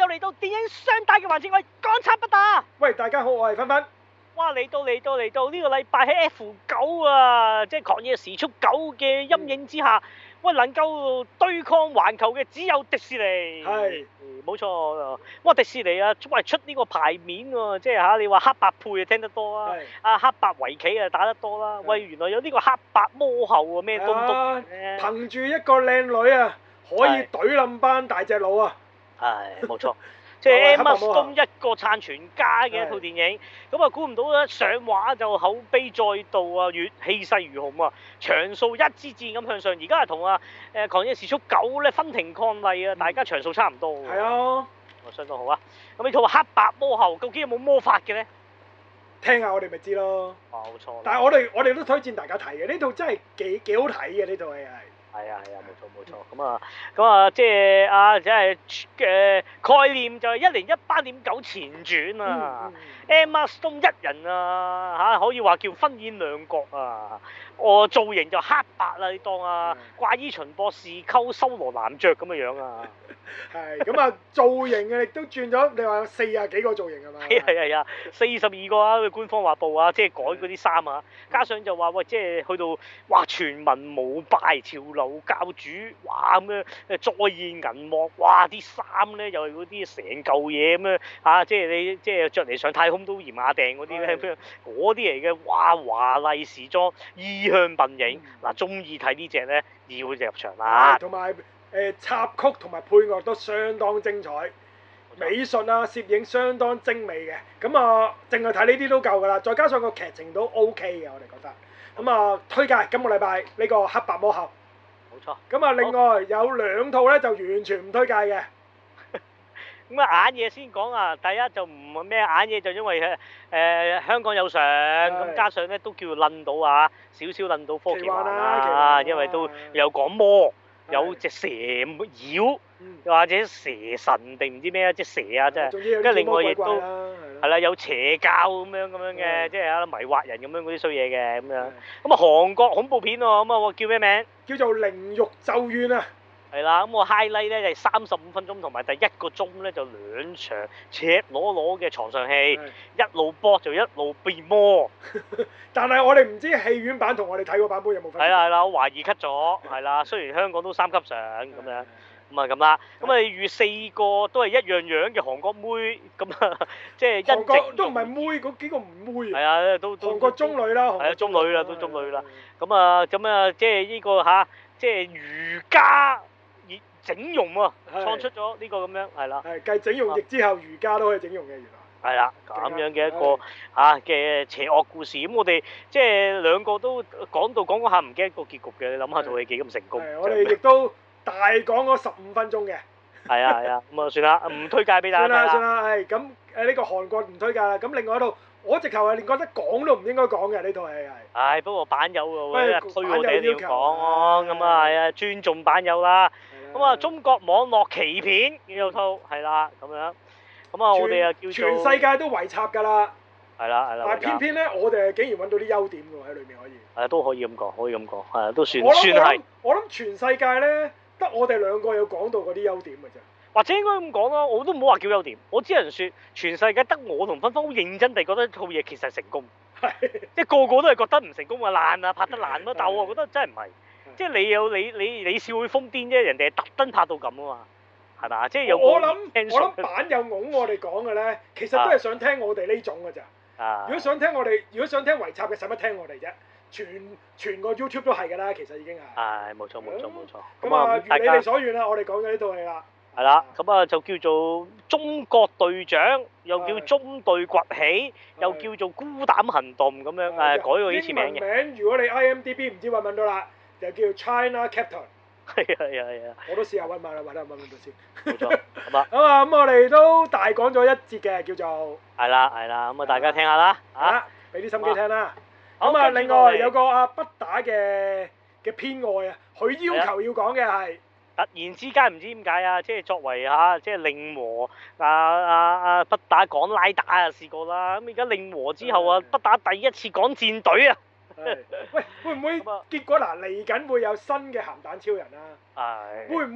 又嚟到電影雙打嘅環節，我係港產不打。 喂，大家好，我係芬芬。 哇！嚟到呢個禮拜喺 F9啊，即係狂野時速9嘅陰影之下，喂，能夠對抗環球嘅只有迪士尼。 係冇錯。哇！迪士尼啊，喂，出呢個牌面喎，即係你話黑白配啊聽得多啊，黑白圍棋啊打得多啦。喂，原來有呢個黑白魔后啊，咩東東嘅。 憑住一個靚女啊，可以懟冧班大隻佬啊！ 係冇錯。即係 Emma Stone 一個撐全家嘅一套電影，咁啊估唔到咧上畫就口碑再度啊，越氣勢如虹啊，場數一支箭咁向上，而家係同狂野時速9咧分庭抗禮啊，大家場數差唔多。 係啊， 相當好啊！咁呢套黑白魔后究竟有冇魔法嘅咧？ 聽下我哋咪知咯。 冇錯。 但係我哋都推薦大家睇嘅，呢套真係幾好睇嘅，呢套戲係。係啊，冇錯。咁啊，即係概念就係一零一8.9前傳啊。Emma Stone 一人啊可以話叫分演兩角啊。造型就黑白啦，你當怪醫秦博士溝修羅男爵咁嘅樣啊。 係咁啊，造型啊亦都轉咗，你話有40幾個造型係嘛？ 係啊，42個啊，官方話報啊，即係改嗰啲衫啊，加上就話喂，即係去到哇全民膜拜潮流教主，哇咁樣再現銀幕，哇啲衫咧又係嗰啲成嚿嘢咁樣即係你即係着嚟上太空都嫌亞訂嗰啲咧，嗰啲嚟嘅，哇華麗時裝意向笨影，嗱中意睇呢隻咧要入場啦。 同埋插曲同埋配樂都相當精彩，美術啊攝影相當精美嘅，咁啊淨係睇呢啲都夠㗎啦，再加上個劇情都 OK 嘅，我哋覺得。咁啊推介今個禮拜呢個黑白魔后。 冇錯。 咁啊另外有兩套咧就完全唔推介嘅。 咁啊眼嘢先講啊，第一就唔係咩眼嘢，就因為香港有上，咁加上咧都叫撚到少少撚到科技幻啦，因為都有講魔，有隻蛇妖，又或者蛇神定唔知咩即係蛇啊，真係。跟住另外亦都係啦，有邪教咁樣嘅，即係迷惑人咁樣嗰啲衰嘢嘅咁樣。咁啊韓國恐怖片喎，咁啊叫咩名？ 叫做《靈獄咒怨》啊。 係啦，咁我 highlight 咧就係35分鐘同埋第1個鐘咧就兩場赤裸裸嘅床上戲，一路搏就一路變魔。 但係我哋唔知戲院版同我哋睇個版本有冇分別。 係啦，我懷疑 cut 咗，係啦，雖然香港都3級上咁樣，咁啊咁啦，咁啊預4個都係一樣樣嘅韓國妹，咁啊即係韓國都唔係妹，嗰幾個唔妹。 係啊，都韓國中女啦。 係啊，中女啦，都中女啦。咁啊即係呢個即係瑜伽整容啊，創出咗呢個咁樣，係啦。係繼整容液之後，瑜伽都可以整容嘅原來。 係啦，咁樣嘅一個嘅邪惡故事。咁我哋即係兩個都講下唔記得個結局嘅，你諗下套戲幾咁成功。 我哋亦都大講咗15分鐘嘅。 係啊，咁啊算啦，唔推介俾大家睇啦。 算啦，係咁呢個韓國唔推介啦。咁另外一套，我直頭係連覺得講都唔應該講嘅呢套戲係。 不過版友喎，推我哋要講喎， 咁啊係啊，尊重版友啦。咁啊，中國網絡奇片呢套係啦，咁樣。咁啊，我哋啊叫做全世界都圍插㗎啦。 係啦。 但係偏偏咧，我哋竟然揾到啲優點喎喺裏面可以。 都可以咁講，係都算係。 我諗全世界咧，得我哋兩個有講到嗰啲優點㗎啫。 或者應該咁講啦，我都唔好話叫優點，我只能説全世界得我同芬芬好認真地覺得套嘢其實係成功。係。即係個個都係覺得唔成功啊，爛啊，拍得爛咯。但我覺得真係唔係。即係你有你笑會瘋癲啫，人哋係特登拍到咁啊嘛，係嘛？即係有我諗版友拱我哋講嘅咧，其實都係想聽我哋呢種㗎咋。如果想聽圍插嘅，使乜聽我哋啫？全個 YouTube 都係㗎啦，其實已經係。係冇錯。 咁啊，如你哋所願啦，我哋講咗呢套戲啦。 係啦，咁啊就叫做中國隊長，又叫中隊崛起，又叫做孤膽行動咁樣改過呢次名嘅。 英文名如果你 IMDB 唔知揾唔揾到啦。就叫 China Captain。 係。 我都試下揾埋啦，揾到先。 冇錯，咁啊。 咁我哋都大講咗一節嘅，叫做。係啦，咁啊大家聽下啦。 俾啲心機聽啦。咁啊，另外有個不打嘅偏愛啊，佢要求要講嘅係。 突然之間唔知點解啊，即係作為即係令和不打講拉打試過啦，咁而家令和之後不打第一次講戰隊啊。 喂，會唔會結果嚟緊會有新嘅鹹蛋超人啊？會唔會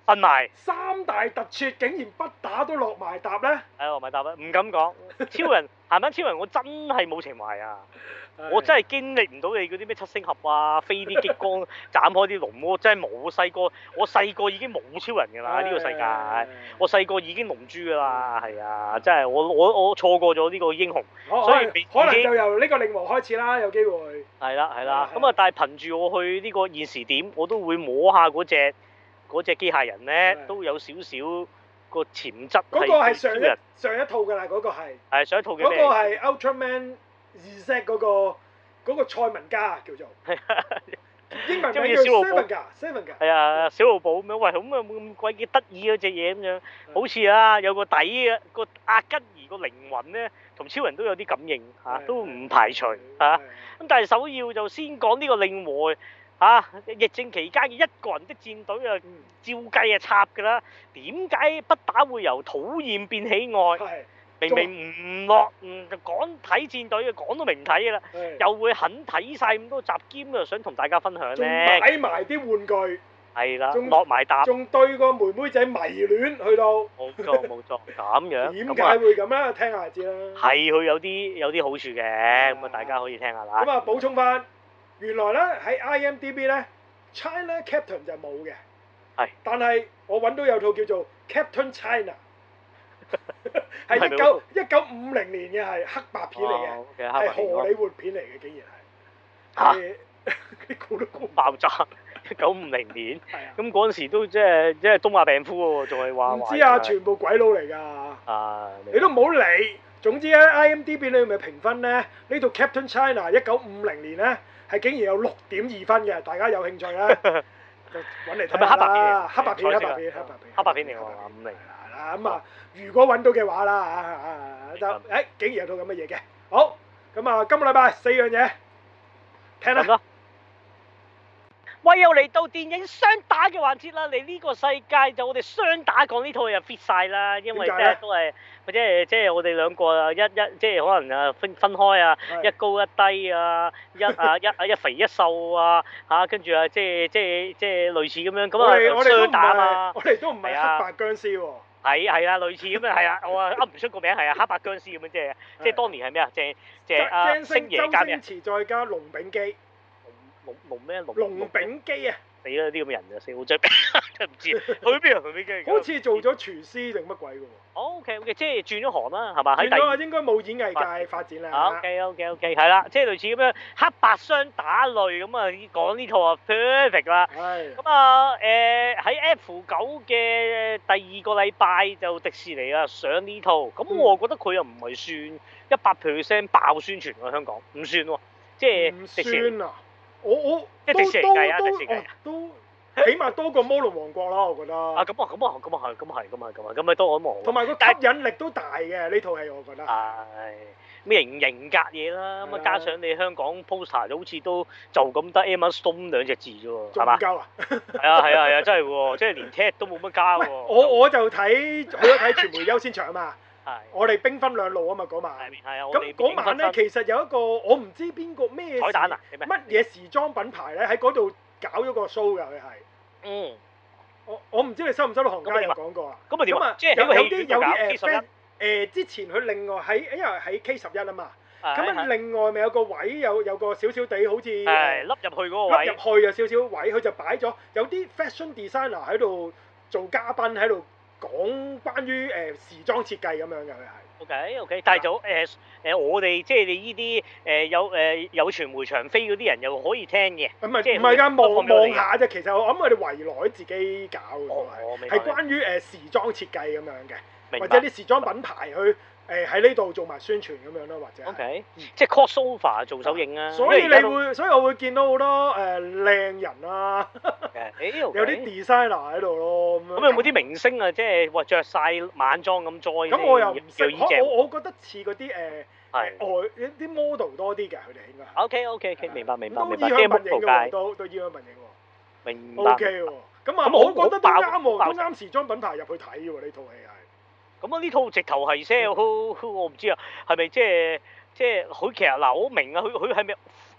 瞓埋。 三大特撮竟然不打都落埋搭咧？ 係落埋搭啦，唔敢講。超人行翻超人，我真係冇情懷啊！我真係經歷唔到你嗰啲咩七星俠啊，飛啲激光斬開啲龍，我真係冇。我細個已經冇超人㗎啦，呢個世界。我細個已經龍珠㗎啦，係啊，真係我錯過咗呢個英雄，所以可能就由呢個令和開始啦，有機會。 係啦，咁啊，但係憑住我去呢個現時點，我都會摸下嗰隻機械人咧，都有少少個潛質。 嗰個係上一套㗎啦，嗰個係。係上一套嘅咩？ 嗰個係 Ultraman Z 嗰個賽文加叫做。英文名叫 Seven 㗎。係啊，小露寶咁樣，喂，咁啊冇咁鬼幾得意嗰隻嘢咁樣，好似啊有個底嘅個阿吉兒個靈魂咧，同超人都有啲感應嚇，都唔排除嚇。咁但係首要就先講呢個令和疫症期間嘅一個人的戰隊啊，照計啊插㗎啦。點解不打會由討厭變喜愛？明明唔落就講睇戰隊嘅，講到明睇㗎啦，又會肯睇晒咁多集，兼又想同大家分享咧。 仲買埋啲玩具。係啦，落埋搭。 仲對個妹妹仔迷戀去到。 冇錯，咁樣。 點解會咁咧？聽下就知啦。係佢有啲好處嘅，咁啊大家可以聽下啦。 咁啊補充翻，原來咧喺 IMDB 咧 China Captain 就冇嘅。係。但係我揾到有套叫做 Captain China。係1950年嘅，係黑白片嚟嘅，係荷里活片嚟嘅，竟然係你估都估爆炸！1950年，咁嗰陣時都即係東亞病夫喎，仲係話唔知啊，全部鬼佬嚟㗎。你都唔好理。總之咧，IMDB 裏面評分咧，呢套 Captain China 1950年咧係竟然有6.2分嘅，大家有興趣咧就揾嚟睇下啦。黑白片嚟㗎嘛，50。咁啊，如果揾到嘅話啦就竟然有套咁嘅嘢嘅。好，咁啊，今個禮拜4樣嘢聽啦。 喂，又嚟到電影雙打嘅環節啦！嚟呢個世界就我哋雙打講呢套又 fit 晒啦，因為都係或者即係我哋兩個啊，即係可能啊分開啊，一高一低啊，一肥一瘦啊，跟住啊即係類似咁樣咁啊雙打啊嘛。 我哋都唔係黑白僵屍喎。 係啊，類似咁樣係啊，我噏唔出個名係啊，黑白僵屍咁樣即係當年係咩啊？星爺加咩？ 周星馳再加龍炳基。 龍咩？ 龍炳基啊！ 死啦！啲咁嘅人啊，死好真係唔知去邊啊？龍炳基好似做咗廚師定乜鬼嘅喎 ？OK，即係轉咗行啦，係嘛？ 轉咗應該冇演藝界發展啦。 OK，係啦，即係類似咁樣黑白雙打類咁啊，講呢套啊 perfect 啦。係。咁啊喺 F9嘅第2個禮拜就迪士尼啊上呢套，咁我覺得佢又唔係算100%爆宣傳喎，香港唔算喎，即係迪士尼。 我即係迪士尼計啊，迪士尼啊， 都起碼多過魔龍王國啦，我覺得。 咁咪多過魔龍。 同埋個吸引力都大嘅呢套戲，我覺得。 係咩型格嘢啦，咁啊加上你香港 poster 好似都就咁得 Emma Stone 2隻字啫喎，係嘛？ 仲唔夠啊？ 係啊，真係喎，即係連 Ted 都冇乜加喎。 我就睇傳媒優先場啊嘛。我哋兵分兩路啊嘛嗰晚，咁嗰晚咧其實有一個我唔知邊個咩彩蛋啊， 乜嘢時裝品牌咧喺嗰度搞咗個 show 㗎佢係。我唔知你收唔收到行家有講過啊？咁啊點啊？即係有啲之前佢另外因為喺 K11啊嘛，咁啊另外咪有個位有個少少地好似凹入去嗰個位， 凹入去有少少位，佢就擺咗有啲 fashion designer 喺度做嘉賓喺度。講關於時裝設計咁樣嘅佢係。 OK，但係就我哋即係你呢啲有傳媒場飛嗰啲人又可以聽嘅。唔係㗎，望下啫。其實我諗佢哋圍內自己搞嘅，係關於時裝設計咁樣嘅，或者啲時裝品牌去喺呢度做埋宣傳咁樣咯，或者。 OK，即係 crossover 做首映啊。 所以我會見到好多靚人啦，有啲 designer 喺度咯。 咁有冇啲明星啊？即係話著曬晚裝咁 join？ 咁我又唔識，我覺得似嗰啲外啲 model 多啲嘅，佢哋應該。 OK，明白。 都衣香鬢影嘅喎，都衣香鬢影喎。 明白。 OK 喎，咁啊，我覺得都啱喎，都啱時裝品牌入去睇喎呢套戲係。 咁啊呢套直頭係 sell，我唔知啊，係咪即係佢其實嗱我明啊，佢係咪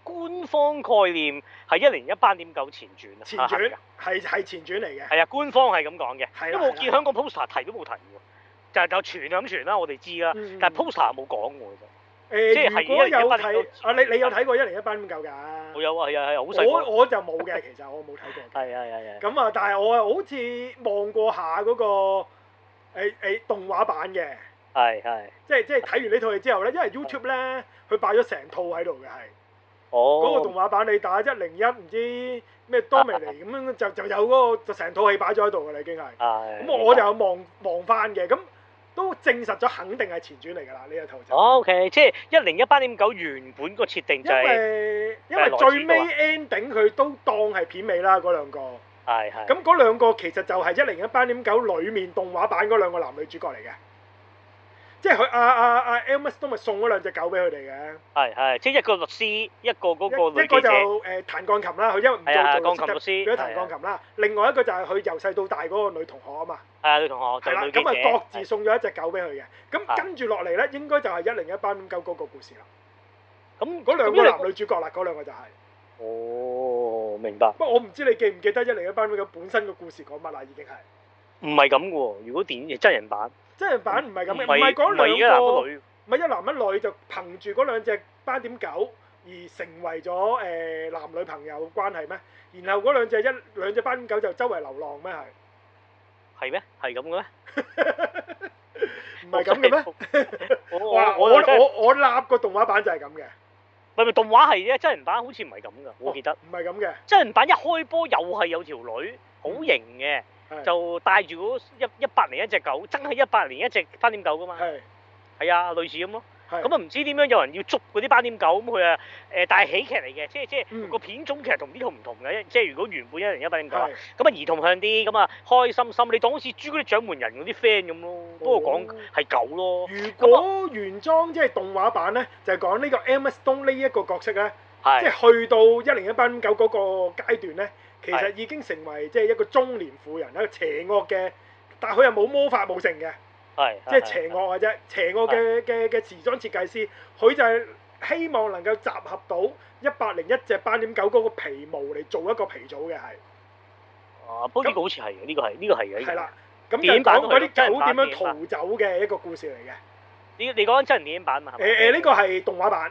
官方概念係1018.9前傳啊。 前傳係前傳嚟嘅。 係啊，官方係咁講嘅。 係因為我見香港 poster 提都冇提喎，就傳咁傳啦，我哋知啦。但係 poster 冇講喎，其實。即係如果有睇啊，你有睇過1018.9㗎？ 我有啊，係啊，好細個。 我就冇嘅，其實我冇睇過。 係。 咁啊，但係我好似望過下嗰個動畫版嘅。 係。 即係睇完呢套戲之後咧，因為 YouTube 咧佢擺咗成套喺度嘅係。 哦。 嗰個動畫版你打101唔知咩多美尼咁樣就有嗰個就成套戲擺咗喺度㗎啦，已經係。咁我就有望翻嘅咁。都證實咗肯定係前傳嚟㗎啦，呢一套就。 OK， 即係1018.9原本個設定就係。 因為最尾 ending 佢都當係片尾啦，嗰兩個。 係。 咁嗰兩個其實就係1018.9裡面動畫版嗰兩個男女主角嚟嘅。即係佢阿 Emma Stone 咪送咗兩隻狗俾佢哋嘅。係， 即係一個律師，一個嗰個女記者。 一個就彈鋼琴啦，佢因為唔做鋼琴律師， 變咗彈鋼琴啦。另外一個就係佢由細到大嗰個女同學啊嘛。 係啊，女同學。係啦， 咁啊各自送咗一隻狗俾佢嘅。咁跟住落嚟咧，應該就係1018.9嗰個故事啦。咁嗰兩個男女主角啦，嗰兩個就係。 哦，明白。 不過我唔知你記唔記得1018.9本身個故事講乜啦，已經係。 唔係咁嘅喎，如果電影真人版。 真人版唔係咁嘅，唔係講兩個，唔係一男一女就憑住嗰兩隻8.9而成為咗男女朋友關係咩？然後嗰兩隻8.9就周圍流浪咩係？ 係咩？係咁嘅咩？ 唔係咁嘅咩？我立個動畫版就係咁嘅。 唔係動畫係啫，真人版好似唔係咁噶，我記得。 唔係咁嘅。真人版一開波又係有條女，好型嘅。就帶住嗰101隻狗，真係101隻8.9噶嘛？係啊，類似咁咯。咁啊唔知點樣有人要捉嗰啲8.9咁佢啊但係喜劇嚟嘅，即係個片種其實同呢套唔同嘅，即係如果原本1018.9咁啊兒童向啲，咁啊開心心，你當好似朱古力獎門人嗰啲 friend 咁咯，不過講係狗咯。 如果原裝即係動畫版咧，就係講呢個 Emma Stone 呢一個角色咧，即係去到1018.9嗰個階段咧。其實已經成為即係一個中年婦人，一個邪惡嘅，但係佢又冇魔法冇成嘅，即係邪惡嘅啫。邪惡嘅時裝設計師，佢就係希望能夠集合到101隻8.9嗰個皮毛嚟做一個皮組嘅係。 不過呢個好似係嘅，呢個係嘅。 係啦，咁就講嗰啲狗點樣逃走嘅一個故事嚟嘅。 你講緊真人電影版嘛？ 呢個係動畫版。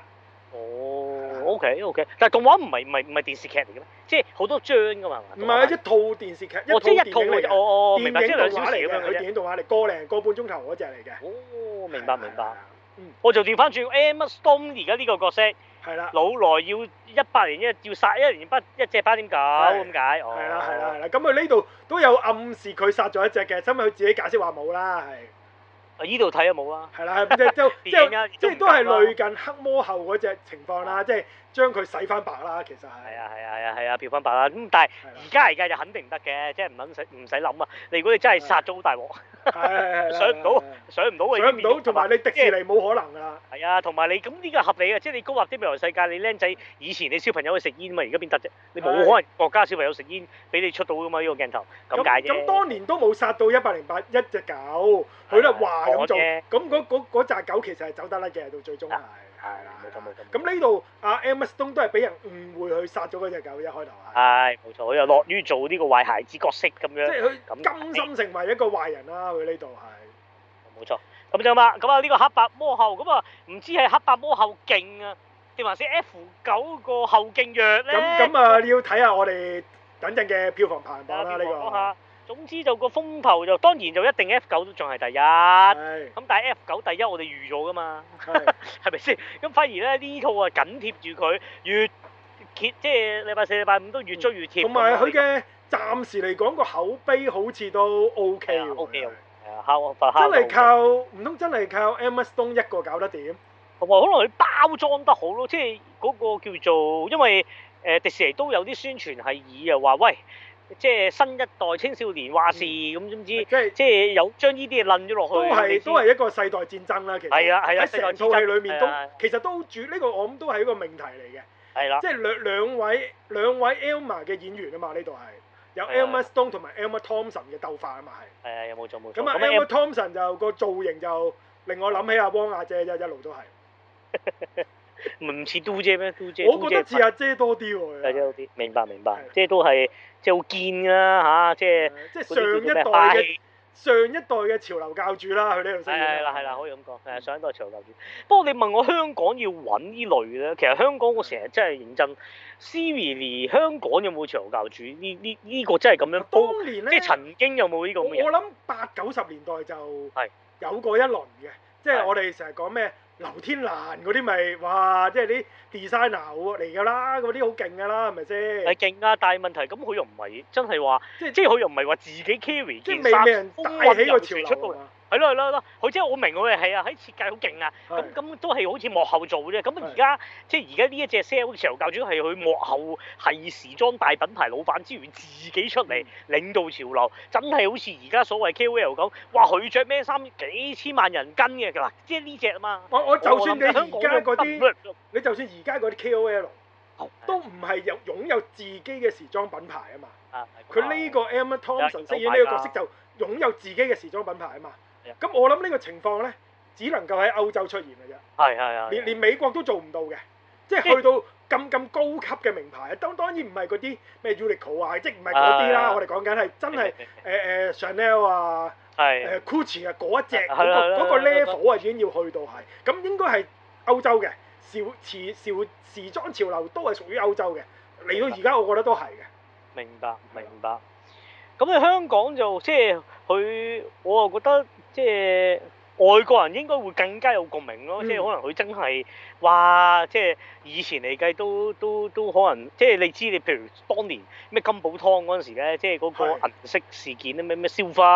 OK，但係動畫唔係電視劇嚟嘅咩？即係好多章㗎嘛？ 唔係一套電視劇，一套電影嚟嘅。明白，即係2小時咁樣嘅啫。電影動畫嚟，個半鐘頭嗰隻嚟嘅。 哦，明白。我就調翻轉 Emma Stone 而家呢個角色。係啦。老來要18年要殺1隻8.9咁解。 係啦。咁佢呢度都有暗示佢殺咗一隻嘅，因為佢自己解釋話冇啦，係。 依度睇都冇啦， 係啦，即係都係類近黑魔后嗰隻情況啦，即係將佢洗翻白啦，其實係。 係啊，漂翻白啦。咁但係而家嚟計就肯定唔得嘅，即係唔使諗啊！你如果你真係殺咗好大鑊，上唔到，上唔到， 同埋你迪士尼冇可能㗎。 係啊，同埋你咁呢個合理嘅，即係你高立啲未來世界，你僆仔以前你小朋友去食煙嘛，而家邊得啫？你冇可能國家小朋友食煙俾你出到㗎嘛？呢個鏡頭咁解啫。 咁當年都冇殺到108一隻狗，佢都話咁做，咁嗰隻狗其實係走得甩嘅，到最終係。係啦，冇錯。咁呢度阿 Emma Stone 都係俾人誤會去殺咗嗰隻狗，一開頭係。 係冇錯，佢又樂於做呢個壞孩子角色咁樣。 即係佢甘心成為一個壞人啦，佢呢度係。 冇錯，咁就嘛，咁啊呢個黑白魔后，咁啊唔知係黑白魔后勁啊，定還是 F9個後勁弱咧？ 咁啊，你要睇下我哋等陣嘅票房排行榜啦，呢個。 總之就個風頭就當然就一定 F9都仲係第一，咁但係 F9第一我哋預咗噶嘛，係咪先？咁反而咧呢套啊緊貼住佢，越揭即係禮拜四、禮拜五都越追越貼。同埋佢嘅暫時嚟講個口碑好似都 OK 喎。 OK 真係靠唔通真係靠 Emma Stone 一個搞得掂？ 同埋可能佢包裝得好咯，即係嗰個叫做因為迪士尼都有啲宣傳係以啊話喂。即係新一代青少年話事咁，總之即係有將呢啲嘢撚咗落去。 都係一個世代戰爭啦，其實。係啊，喺成套戲裏面都其實都主呢個我諗都係一個命題嚟嘅。係啦。即係兩位 Elma 嘅演員啊嘛，呢度係有 Emma Stone 同埋 Emma Thompson 嘅鬥法啊嘛係。係啊，有冇錯冇錯。咁啊 Emma Thompson 就個造型就令我諗起阿汪阿姐啫，一路都係。 唔似嘟姐咩？嘟姐， 我覺得似阿姐多啲喎。 阿姐多啲，明白。即係都係即係好堅啊嚇，即係上一代嘅潮流教主啦，佢呢度飾演。 係啦，可以咁講，係上一代潮流教主。不過你問我香港要揾呢類咧，其實香港我成日真係認真。Siri 香港有冇潮流教主？呢個真係咁樣。 當年咧， 即係曾經有冇呢個咁嘅人？ 我諗80、90年代就有過一輪嘅，即係我哋成日講咩劉天蘭嗰啲咪哇，即係啲 designer 嚟㗎啦，嗰啲好勁㗎啦，係咪先？ 係勁啊，但係問題咁佢又唔係真係話，即係佢又唔係話自己 carry 件衫， 即係未人帶起個潮流出到嚟。 係咯，佢即係我明佢係啊，喺設計好勁啊，咁都係好似幕後做啫。咁而家即係而家呢一隻 sell 潮流教主係佢幕後係時裝大品牌老闆之餘，自己出嚟領導潮流，真係好似而家所謂 KOL 咁，哇！佢着咩衫幾千萬人跟嘅嗱，即係呢隻啊嘛。 我就算你而家嗰啲，你就算而家嗰啲 KOL 都唔係擁有自己嘅時裝品牌啊嘛。佢呢個 Emma Thompson 飾演呢個角色就擁有自己嘅時裝品牌啊嘛。咁我諗呢個情況咧，只能夠喺歐洲出現嘅啫。係。連美國都做唔到嘅，即係去到咁高級嘅名牌，當然唔係嗰啲咩 Uniqlo 啊，即係唔係嗰啲啦。我哋講緊係真係Chanel 啊，Gucci 啊嗰一隻嗰個 level 啊已經要去到係。咁應該係歐洲嘅時裝潮流都係屬於歐洲嘅。嚟到而家我覺得都係嘅。 明白。咁你香港就即係佢，我又覺得即係外國人應該會更加有共鳴咯。即係可能佢真係哇，即係以前嚟計都可能，即係你知你譬如當年咩金寶湯嗰陣時咧，即係嗰個銀色事件咧，咩 Silver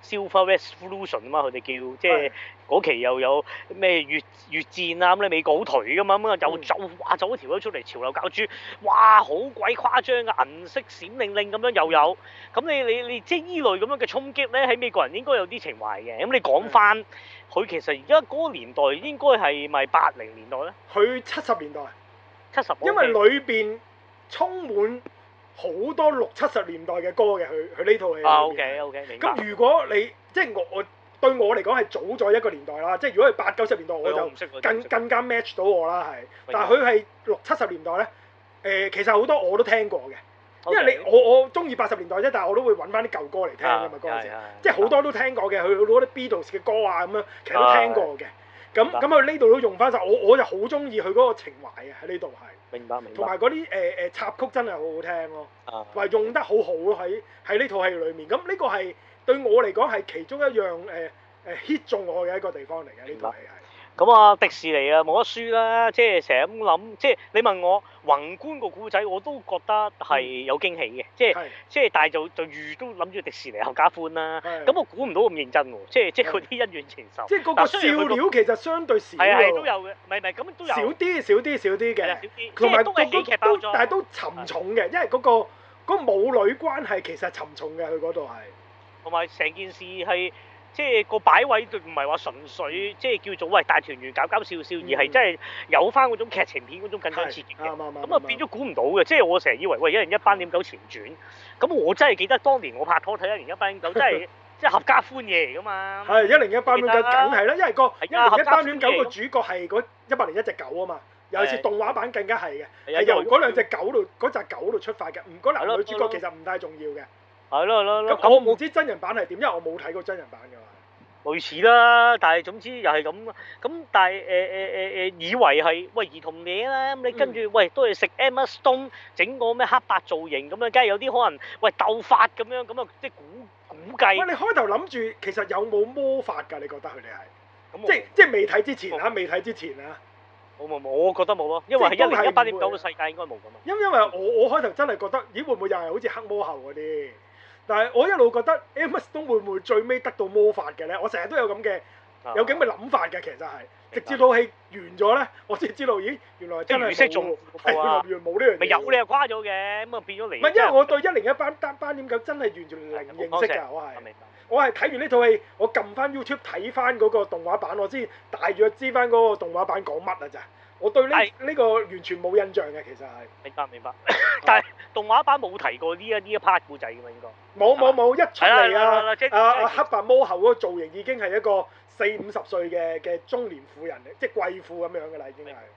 Revolution 啊嘛，佢哋叫即係嗰期又有咩越戰啊咁咧，美國好頹噶嘛，咁啊又走一條出嚟潮流教主，哇好鬼誇張嘅銀色閃令令咁樣又有，咁你即係依類咁樣嘅衝擊咧，喺美國人應該有啲情懷嘅。咁你講翻佢其實而家嗰個年代應該係咪80年代咧？ 佢70年代。 70。 因為裏邊充滿好多60、70年代嘅歌嘅，佢呢套戲。 OK，明白。 咁如果你即係我對我嚟講係早咗一個年代啦，即係如果係80、90年代我就更加 match 到我啦，係。但係佢係60、70年代咧，其實好多我都聽過嘅。因為我中意80年代啫，但係我都會揾翻啲舊歌嚟聽㗎嘛，嗰陣時，即係好多都聽過嘅，佢攞啲 Beatles 嘅歌啊咁樣，其實都聽過嘅。咁佢呢度都用翻晒，我就好中意佢嗰個情懷啊，喺呢度係。 明白。 同埋嗰啲插曲真係好好聽咯，同埋用得好好咯喺呢套戲裏面。咁呢個係對我嚟講係其中一樣hit 中我嘅一個地方嚟嘅，呢套戲係。 咁啊，迪士尼啊冇得輸啦，即係成日咁諗，即係你問我宏觀個故仔，我都覺得係有驚喜嘅，即係但係就預都諗住迪士尼合家歡啦。咁我估唔到咁認真喎，即係嗰啲恩怨情仇。 即係嗰個笑料其實相對少。 係都有嘅，唔係咁都有。 少啲嘅， 同埋都係喜劇包裝， 但係都沉重嘅，因為嗰個母女關係其實沉重嘅，佢嗰度係。 同埋成件事係。即係個擺位唔係話純粹即係叫做喂大團圓搞笑，而係真係有翻嗰種劇情片嗰種緊張刺激嘅。咁啊變咗估唔到嘅，即係我成日以為喂101斑點狗前傳，咁我真係記得當年我拍拖睇101斑點狗，真係即係合家歡嘢嚟㗎嘛。係101斑點狗梗係啦，因為個101斑點狗個主角係嗰101隻狗啊嘛，尤其是動畫版更加係嘅，係由嗰兩隻狗度嗰隻狗度出發嘅，嗰男女主角其實唔太重要嘅。係咯。咁我唔知真人版係點，因為我冇睇過真人版㗎嘛。 類似啦，但係總之又係咁。咁但係以為係喂兒童嘢啦，咁你跟住喂都係食 Emma Stone 整個咩黑白造型咁樣，梗係有啲可能喂鬥法咁樣，咁啊即係估計。喂，你開頭諗住其實有冇魔法㗎？你覺得佢哋係？即係未睇之前啊，未睇之前啊。冇，我覺得冇咯，因為係101斑點狗嘅世界應該冇咁啊。因為我開頭真係覺得，咦會唔會又係好似黑魔后嗰啲？但係我一路覺得 Emma Stone 會唔會最尾得到魔法嘅咧？我成日都有咁嘅諗法嘅，其實係直至套戲完咗咧，我先知道，咦原來真係冇，原來冇呢樣嘢。咪有你又誇咗嘅，咁啊變咗嚟。唔係因為我對101斑點狗真係完全零認識㗎，我係睇完呢套戲，我撳翻 YouTube 睇翻嗰個動畫版，我先大約知翻嗰個動畫版講乜啊咋。我對呢個完全冇印象嘅，其實係。明白。但係動畫版冇提過呢一 part 故仔㗎嘛，應該。冇，一出嚟啊！黑白魔后嗰個造型已經係一個40、50歲嘅中年婦人嚟，即係貴婦咁樣㗎啦，已經係。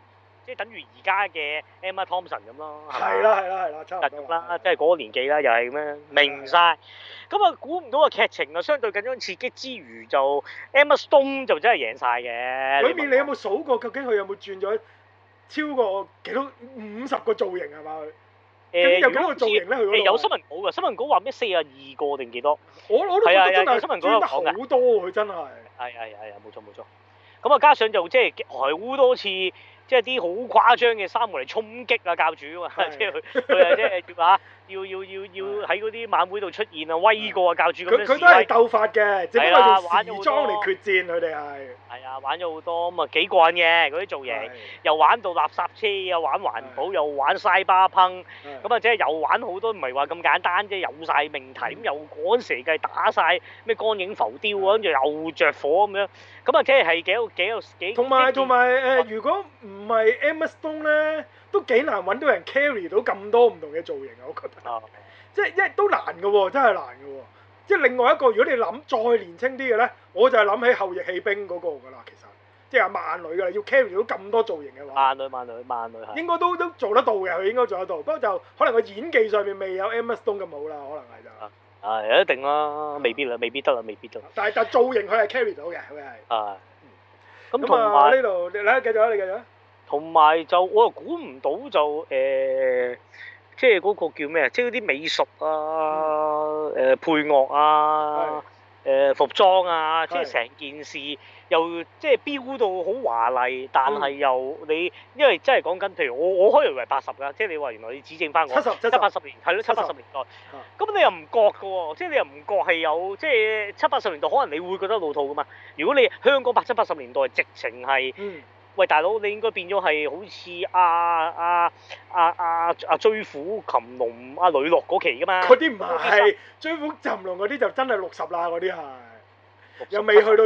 即係等於而家嘅 Emma Thompson 咁咯。 係啦，差唔多啦，即係嗰個年紀啦，又係咁樣明晒。咁啊，估唔到個劇情啊，相對緊張刺激之餘，就 Emma Stone 就真係贏晒嘅。 裏面你有冇數過究竟佢有冇轉咗超過幾多50個造型係嘛佢？有幾多個造型咧？佢嗰度有新聞稿㗎，新聞稿話咩42個定幾多？ 我都覺得真係新聞稿轉得好多佢真係。 係，冇錯。咁啊，加上就即係好多次。即係啲好誇張嘅三個嚟衝擊啊教主啊嘛，即係佢啊即係要喺嗰啲晚會度出現啊威過啊教主咁樣。佢都係鬥法嘅，只不過用時裝嚟決戰佢哋係。係啊，玩咗好多咁啊幾過癮嘅嗰啲造型，又玩到垃圾車，又玩環保，又玩西巴烹，咁啊即係又玩好多，唔係話咁簡單啫，有晒命題，咁又嗰陣時計打晒咩光影浮雕啊，跟住又着火咁樣，咁啊即係幾。同埋如果唔係 Emma Stone 咧，都幾難揾到人 carry 到咁多唔同嘅造型啊！我覺得，即係因為都難嘅喎，真係難嘅喎。即係另外一個，如果你諗再年青啲嘅咧，我就係諗起後翼棄兵嗰個㗎啦。其實，即係萬女㗎啦，要 carry 到咁多造型嘅話，萬女係應該都做得到嘅，佢應該做得到。不過就可能個演技上面未有 Emma Stone 咁好啦，可能係就。 一定啦，未必得啦。 但造型佢係 carry 到嘅，佢係。 咁同埋呢度，你繼續啊！ 同埋就我又估唔到就即係嗰個叫咩啊？即係嗰啲美術啊、配樂啊、服裝啊，即係成件事又即係標到好華麗，但係又你因為真係講緊，譬如我開以為80㗎，即係你話原來你指正翻我70-80年係咯，70-80年代，咁你又唔覺㗎喎，即係你又唔覺係有即係70-80年代，可能你會覺得老套㗎嘛。如果你香港80-80年代直情係。喂，大佬，你應該變咗係好似追虎擒龍阿呂樂嗰期噶嘛？ 嗰啲唔係追虎擒龍嗰啲就真係60啦，嗰啲係又未去到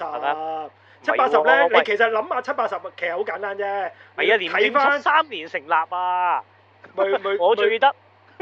70-80。70-80咧，你其實諗下70-80其實好簡單啫。係啊， 睇翻73年成立啊！我最記得。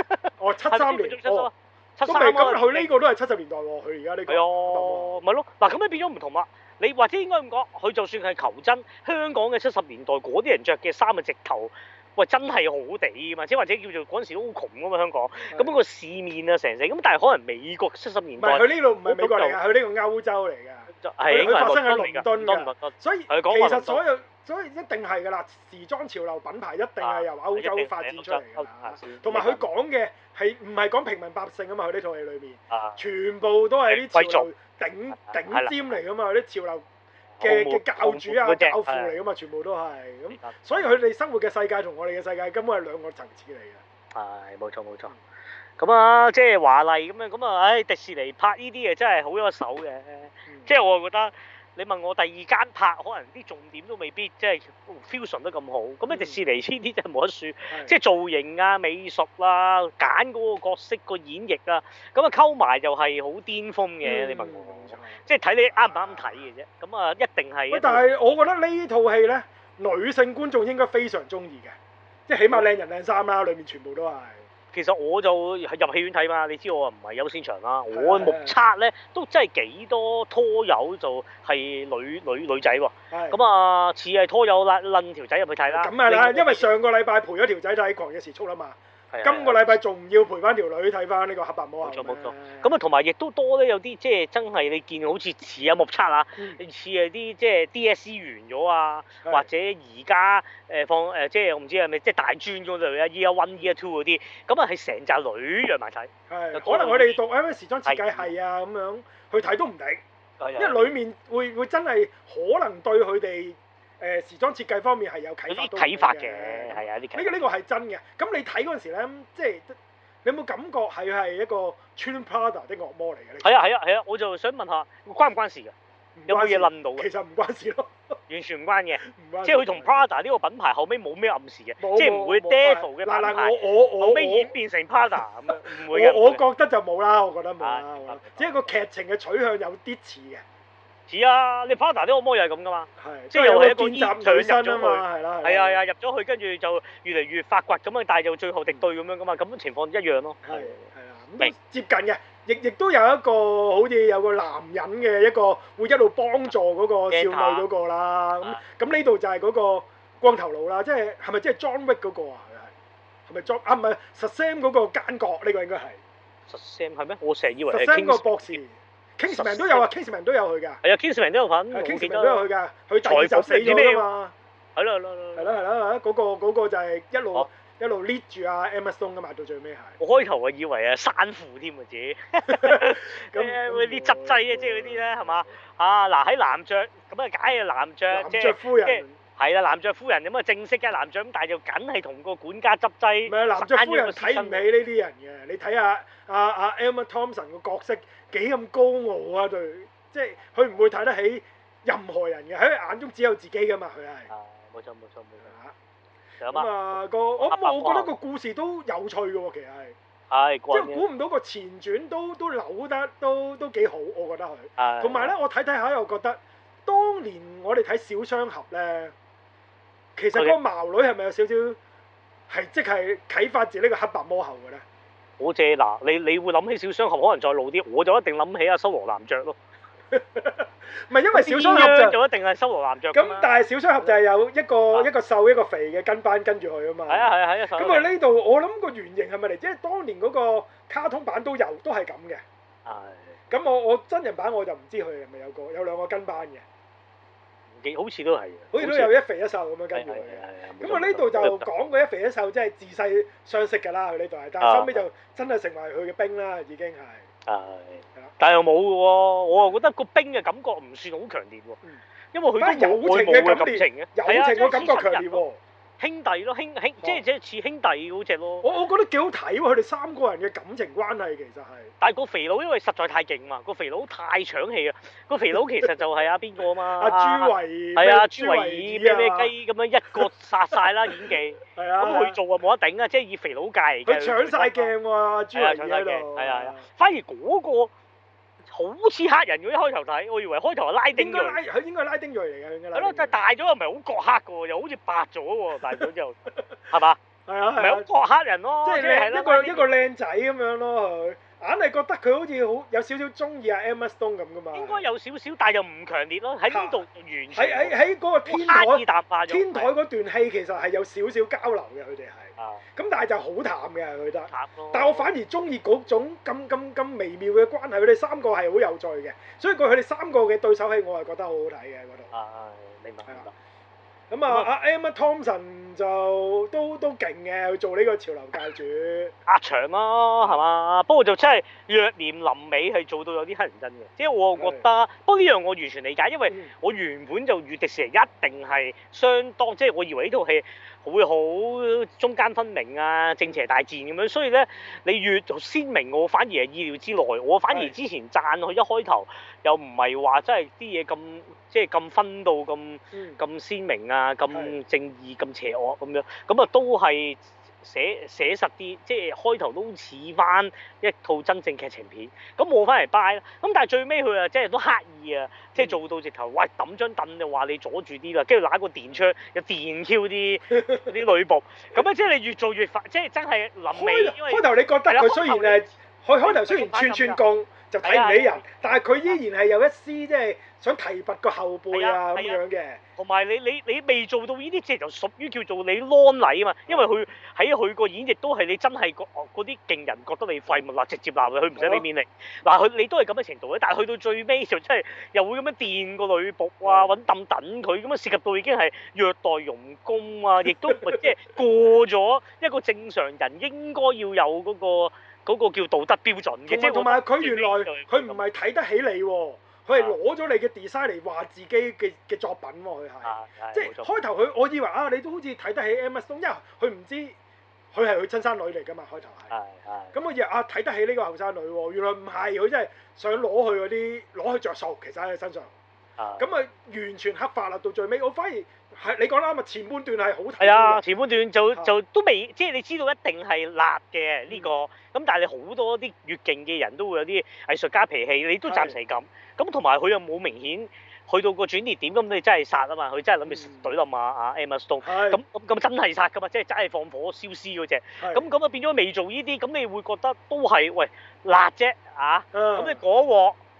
73年。73咁佢呢個都係70年代喎，佢而家呢個。係啊， 咪咯，嗱咁你變咗唔同啦。你或者應該咁講，佢就算係求真，香港嘅70年代嗰啲人着嘅衫嘅直頭，喂真係好地㗎嘛，即係或者叫做嗰陣時都好窮㗎嘛香港，咁個市面啊成咁，但係可能美國70年代， 唔係佢呢度唔係美國嚟㗎，佢呢個歐洲嚟㗎，佢發生喺倫敦㗎，所以其實所以一定係㗎啦，時裝潮流品牌一定係由歐洲發展出嚟㗎，同埋佢講嘅係唔係講平民百姓啊嘛？佢呢套戲裏面，全部都係啲潮流頂尖嚟㗎嘛，啲潮流嘅教主啊、教父嚟㗎嘛，全部都係咁，所以佢哋生活嘅世界同我哋嘅世界根本係兩個層次嚟嘅。 係冇錯。咁啊，即係華麗咁樣，咁啊，唉，迪士尼拍呢啲嘢真係好有手嘅，即係我覺得。你問我第二間拍，可能啲重點都未必即係 fusion 得咁好。咁迪士尼呢啲真係冇得輸，即係造型啊、美術啊、揀嗰個角色個演繹啊，咁啊溝埋就係好巔峰嘅。你問我，即係睇你啱唔啱睇嘅啫。咁啊，一定係。 但係我覺得呢套戲咧，女性觀眾應該非常中意嘅，即係起碼靚人靚衫啦，裏面全部都係。 其實我就入戲院睇嘛，你知我唔係優先場啦。我目測咧都真係幾多拖友就係女仔喎。咁啊，似係拖友撚條仔入去睇啦。 咁係啦，因為上個禮拜陪咗條仔睇《狂野時速》啦嘛。今個禮拜仲要陪翻條女睇翻呢個黑白魔俠。 冇錯。咁啊，同埋亦都多咧，有啲即係真係你見好似似啊目測啊，似係啲即係 DSE 完咗啊，或者而家放即係我唔知係咪即係大專嗰類啊 Year One Year Two 嗰啲，咁啊係成扎女約埋睇。 可能我哋讀咩時裝設計系啊咁樣去睇都唔定，因為裡面會真係可能對佢哋。時裝設計方面係有啟發嘅， 係啊， 呢個係真嘅。咁你睇嗰陣時咧，即係你有冇感覺係一個穿 Prada 的惡魔嚟嘅咧？ 係啊，我就想問下，關唔關事㗎？有冇嘢諗到嘅？ 其實唔關事咯， 完全唔關嘅。即係佢同 Prada 呢個品牌後尾冇咩暗示嘅，即係唔會 Devil 嘅品牌後尾演變成 Prada 咁樣，唔會嘅。 我覺得就冇啦，我覺得冇啦，只係個劇情嘅取向有啲似嘅。 似啊！你 Prada 啲惡魔又係咁噶嘛？ 即係有一個見習女生啊嘛，係啊，入咗去跟住就越嚟越發掘咁啊，但係就最後敵對咁樣噶嘛，咁情況一樣咯。 係啊，咁都接近嘅，亦都有一個好似有個男人嘅一個會一路幫助嗰個少女嗰個啦。咁呢度就係嗰個光頭佬啦，即係係咪即係 John Wick 嗰個啊？係咪 John 啊？唔係 Shazam 嗰個奸角呢個應該係。 Shazam 係咩？我成日以為係 Shazam 個博士。Kingsman 都有啊 ，Kingsman 都有佢㗎。 係啊 ，Kingsman 都有份。 Kingsman 都有佢㗎，佢第二集死咗㗎嘛。係啦，嗰個就係一路 lead 住阿 Emma Stone 㗎嘛，到最尾係。 我開頭係以為係山扶添啊自己。咁嗰啲執劑啊，即係嗰啲咧係嘛？啊嗱喺男爵咁啊，梗係男爵即係夫人。 係啦，男爵夫人咁啊，正式嘅男爵咁，但係就梗係同個管家執劑。 唔係男爵夫人睇唔起呢啲人嘅，你睇下阿 Emma Thompson 個角色幾咁高傲啊！對，即係佢唔會睇得起任何人嘅，喺佢眼中只有自己㗎嘛，佢係。冇錯。咁啊我覺得個故事都有趣嘅喎，其實係。即係估唔到個前傳都扭得都幾好，我覺得佢。同埋咧，我睇下又覺得，當年我哋睇小雙俠咧。其實個矛女係咪有少少係即係啟發自呢個黑白魔后嘅咧？ 好正嗱，你會諗起小雙俠可能再老啲，我就一定諗起阿修羅男爵咯。 唔係因為小雙俠就一定係修羅男爵。 咁但係小雙俠就係有一個瘦一個肥嘅跟班跟住佢啊嘛。係啊。 咁佢呢度我諗個原型係咪嚟？即係當年嗰個卡通版都係咁嘅。係。咁我真人版我就唔知佢係咪有兩個跟班嘅。 好似都係， 好似都有一肥一瘦咁樣跟住佢嘅。咁啊呢度就講過一肥一瘦，即係自細相識㗎啦。佢呢度係，但係收尾就真係成為佢嘅兵啦，已經係。 但係又冇嘅喎，我又覺得個兵嘅感覺唔算好強烈喎。因為佢都有愛慕嘅感情嘅， 友情嘅感覺強烈喎。 兄弟咯，即係似兄弟嗰隻咯。 我覺得幾好睇喎，佢哋三個人嘅感情關係其實係。 但係個肥佬因為實在太勁嘛，個肥佬太搶戲啊！個肥佬其實就係邊個啊嘛？ 阿朱維。 係啊，朱維爾咩雞咁樣一個殺晒啦演技。係啊。咁佢做啊冇得頂啊，即係以肥佬界嚟嘅。 佢搶晒鏡喎，朱維爾喺度。 係啊。反而嗰個好似黑人嘅，一開頭睇，我以為開頭係拉丁裔。 佢應該係拉丁裔嚟嘅。 係咯，但係大咗又唔係好覺黑嘅喎，又好似白咗喎，大咗之後，係嘛？係啊。唔係好覺黑人咯， 即係一個靚仔咁樣咯，佢硬係覺得佢好似有少少中意阿 Emma Stone 咁噶嘛。 應該有少少，但係又唔強烈咯。喺呢度完全。 喺嗰個天台嗰段戲其實係有少少交流嘅，佢哋係。咁但係就好淡嘅，佢覺得。但係我反而中意嗰種咁微妙嘅關係，佢哋三個係好有趣嘅，所以佢哋三個嘅對手戲我係覺得好好睇嘅嗰度。 明白。 咁阿 Emma Thompson 就都勁嘅，去做呢個潮流界主。 壓場咯，係嘛？不過就真係若念臨尾係做到有啲乞人憎嘅，即係我覺得。不過呢樣我完全理解，因為我原本就預迪士尼一定係相當，即係我以為呢套戲會好中間分明啊，正邪大戰咁樣，所以咧你越鮮明，我反而係意料之內。我反而之前讚佢一開頭又唔係話真係啲嘢咁。即係咁分到咁鮮明啊，咁正義咁邪惡咁樣，咁啊都係寫實啲，即係開頭都似翻一套真正劇情片。咁我翻嚟 buy 啦，咁但係最尾佢啊，即係都刻意啊，即係做到直頭，喂揼張凳就話你阻住啲啦，跟住揦個電槍又電 Q 啲女僕，咁啊即係你越做越快，即係真係臨尾。 開頭你覺得佢雖然誒，開頭雖然串供就睇唔起人，但係佢依然係有一絲即係。想提拔個後輩啊咁樣嘅， 同埋你未做到呢啲，即係就屬於叫做你 lawn 禮啊嘛，因為佢喺佢個演繹都係你真係嗰啲勁人覺得你廢物，嗱直接鬧佢唔使俾面力，嗱佢你都係咁嘅程度咧，但係去到最尾就真係又會咁樣電個女僕啊，揾凳等佢，咁樣涉及到已經係虐待傭工啊，亦都即係過咗一個正常人應該要有嗰個叫道德標準嘅，即係同埋佢原來佢唔係睇得起你喎。佢係攞咗你嘅 design 嚟話自己嘅作品喎，佢係，即係開頭佢，我以為你都好似睇得起 Emma Stone，因為佢唔知佢係佢親生女嚟㗎嘛，開頭係，咁我以為睇得起呢個後生女喎，原來唔係，佢真係想攞佢着數，其實喺佢身上，咁啊完全黑化啦，到最尾我反而係你講啦嘛，前半段係好睇，係啊，前半段就都未，即係你知道一定係辣嘅呢個，咁但係你好多啲越勁嘅人都會有啲藝術家脾氣，你都暫時係咁。咁同埋佢又冇明顯去到個轉捩點，咁你真係殺啊嘛！佢真係諗住懟冧阿 Emma Stone，咁真係殺噶嘛！即係真係放火燒屍嗰隻，咁啊變咗未做呢啲，咁你會覺得都係喂辣啫啊！咁你嗰鑊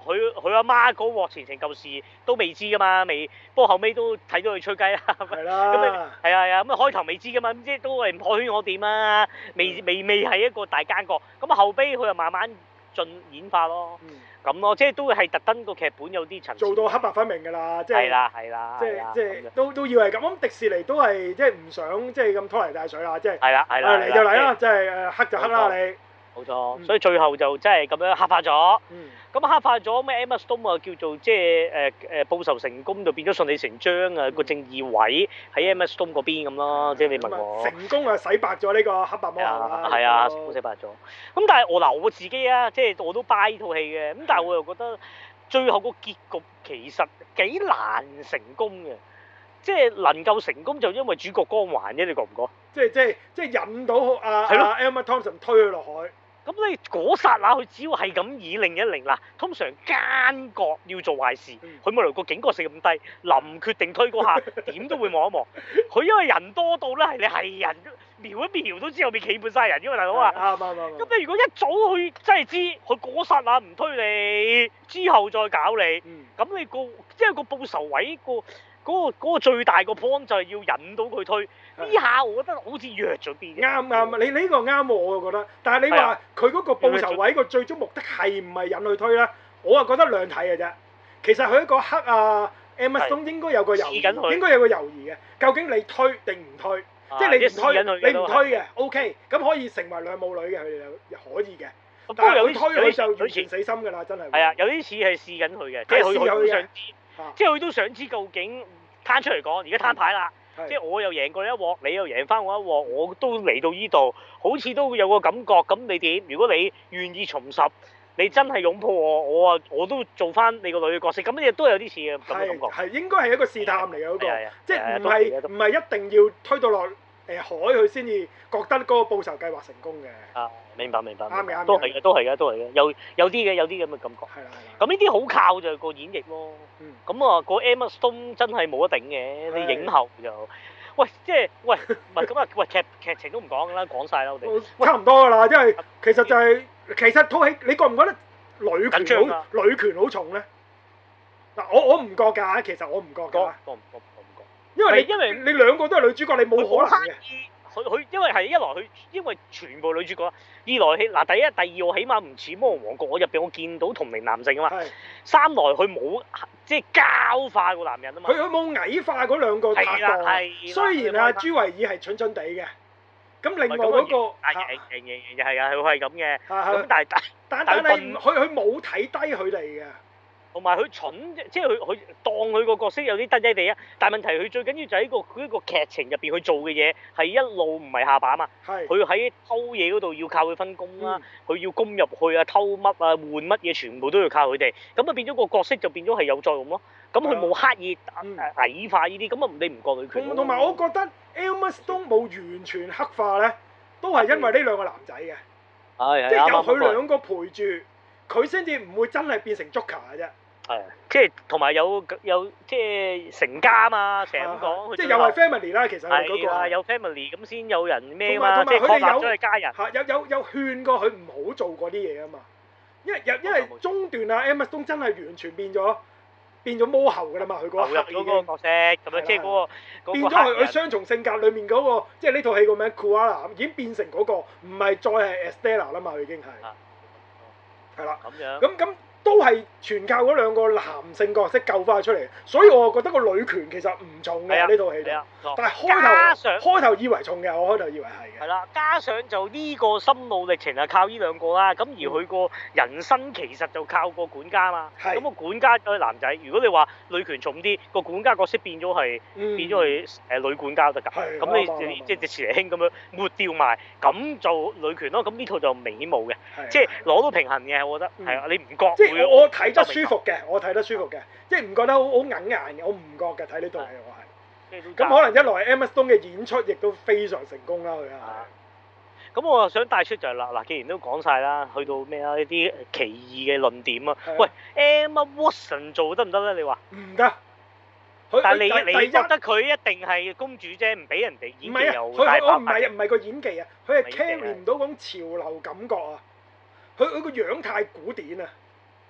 佢阿媽嗰鑊前程舊事都未知噶嘛，不過後尾都睇到佢吹雞啦。 係啦。 咁啊係啊，咁啊開頭未知噶嘛，咁即係都係唔可圈可點啊，未係一個大奸角。咁啊後尾佢又慢慢演化咯。咁咯，即係都係特登個劇本有啲層次。做到黑白分明㗎啦，即係。係啦。即係都要係咁。咁迪士尼都係即係唔想即係咁拖泥帶水啦，即係。係啦。嚟就嚟啦，即係黑就黑啦你。 冇錯，所以最後就真係咁樣黑化咗。咁黑化咗咩 Emma Stone 啊叫做即係報仇成功就變咗順理成章啊個正義位喺 Emma Stone 嗰邊咁咯，即係你問我。 成功啊洗白咗呢個黑白魔后啦。 係啊，洗白咗。咁但係我自己啊，即係我都 buy 呢套戲嘅，咁但係我又覺得最後個結局其實幾難成功嘅，即係能夠成功就因為主角光環啫，你覺唔覺？ 即係引到Emma Thompson 推佢落海。 咁你嗰剎那佢只要係咁以令一令嗱，通常奸角要做壞事，佢冇理由個警覺性咁低，臨決定推嗰下點都會望一望。佢因為人多到咧係你係人瞄一瞄都知後面企滿晒人，因為大佬啊。啱。咁你如果一早去真係知，佢嗰剎那唔推你，之後再搞你，咁你即係個報仇位嗰個最大個 point 就係要引到佢推。呢下我覺得好似弱咗啲。啱，你呢個啱喎，我覺得。但係你話佢嗰個報仇位個最終目的係唔係引佢推咧？我啊覺得兩睇嘅啫。其實佢一個黑Emma Stone 應該有個猶豫，嘅。究竟你推定唔推？即係你唔推，你唔推嘅 OK，咁可以成為兩母女嘅，佢哋又可以嘅。但係佢推佢就完全死心㗎啦，真係。係啊， 有啲似係試緊佢嘅，即係佢都想知，即係佢都想知究竟攤出嚟講，而家攤牌啦。即係我又贏過一鑊，你又贏翻我一鑊，我都嚟到呢度，好似都有個感覺。咁你點？如果你願意重拾，你真係擁抱我都做翻你個女嘅角色。咁亦都有啲似嘅咁嘅感覺。係應該係一個試探嚟嘅嗰個，即係唔係一定要推到落海佢先至覺得嗰個報仇計劃成功嘅。啊，明白。啱嘅，都係嘅，有啲咁嘅感覺。係啦。咁呢啲好靠就個演繹咯。咁啊，個 Emma Stone 真係冇得頂嘅，你影后就，喂，即係喂，唔係咁啊，喂劇情都唔講啦，講晒啦我哋。差唔多㗎啦，因為其實就係其實套戲，你覺唔覺得女權好重咧？嗱，我唔覺㗎，其實我唔覺㗎。我唔覺。因為你兩個都係女主角，你冇可能嘅。佢因為係一來佢因為全部女主角，二來第一第二我起碼唔似魔王國，我入邊我見到同齡男性啊嘛。三來佢冇即係膠化個男人啊嘛。佢冇矮化嗰兩個拍檔。雖然朱維爾係蠢蠢地嘅，咁另外嗰個係啊，佢係咁嘅。咁但係佢冇睇低佢哋嘅。同埋佢蠢，即係佢當佢個角色有啲低低地啊！但係問題佢最緊要就喺個劇情入邊去做嘅嘢係一路唔係下巴嘛。佢喺偷嘢嗰度要靠佢分工啦，佢要攻入去啊、偷乜啊、換乜嘢，全部都要靠佢哋。咁啊變咗個角色就變咗係有作用咯。咁佢冇刻意矮化呢啲，咁啊你唔覺女權？同埋我覺得 Emma Stone 冇完全黑化咧，都係因為呢兩個男仔嘅。即係有佢兩個陪住，佢先至唔會真係變成 Joker 嘅啫。係，即係同埋有即係成家嘛，成日咁講。即係又係 family 啦，其實係嗰個。有 family 咁先有人咩嘛，即係確立咗係家人。有勸過佢唔好做嗰啲嘢啊嘛，因為中段啊 Emma Stone 真係完全變咗魔后㗎啦嘛，佢嗰個黑已經。嗰個角色咁樣，即係嗰個變咗佢雙重性格裡面嗰個，即係呢套戲個名 Koala 已經變成嗰個，唔係再係 Estella 啦嘛，佢已經係。係啦。咁樣。咁。都係全靠嗰兩個男性角色救翻佢出嚟，所以我覺得個女權其實唔重嘅呢套戲度。但係開頭以為重嘅，我開頭以為係嘅。係啦，加上就呢個心路歷程係靠呢兩個啦，咁而佢個人生其實就靠個管家嘛。咁個管家都係男仔，如果你話女權重啲，個管家角色變咗係女管家都得㗎。咁你即係似嚟興咁樣抹掉埋，咁就女權咯。咁呢套就明顯冇嘅，即係攞到平衡嘅，我覺得係啊，你唔覺？我睇得舒服嘅，即係唔覺得好硬嘅，我唔覺嘅睇呢套戲我係。咁可能一來 Emma Stone 嘅演出亦都非常成功啦，佢係。咁我想帶出就係嗱，既然都講晒啦，去到咩啊？一啲奇異嘅論點啊。喂 Emma Watson 做得唔得咧？你話？唔得。但係你覺得佢一定係公主啫，唔俾人哋演技又大爆發。唔係個演技啊，佢係 carry 唔到嗰種潮流感覺啊。佢個樣太古典啊！